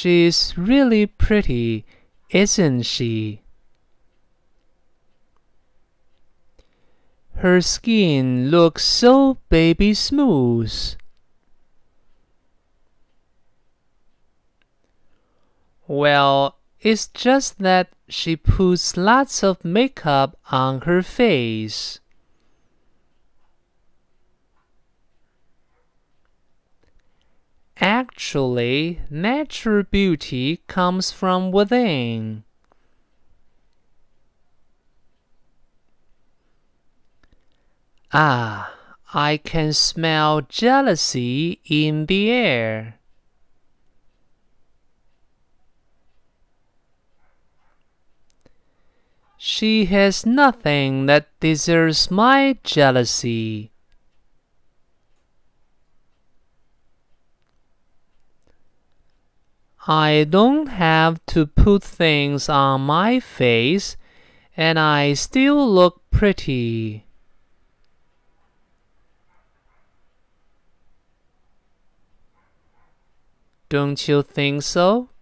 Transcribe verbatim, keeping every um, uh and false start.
She's really pretty, isn't she? Her skin looks so baby smooth. Well, it's just that she puts lots of makeup on her face. Actually, natural beauty comes from within. Ah, I can smell jealousy in the air. She has nothing that deserves my jealousy. I don't have to put things on my face, and I still look pretty. Don't you think so?